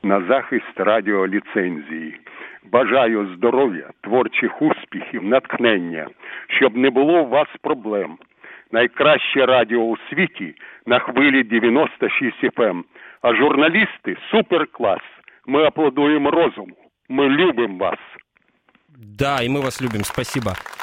на захист радіоліцензії. Бажаю здоров'я, творчих успіхів, натхнення, щоб не було у вас проблем. Найкраще радіо у світі на хвилі 96 FM. А журналісти – суперклас. Мы аплодуем розуму. Мы любим вас. Да, и мы вас любим. Спасибо.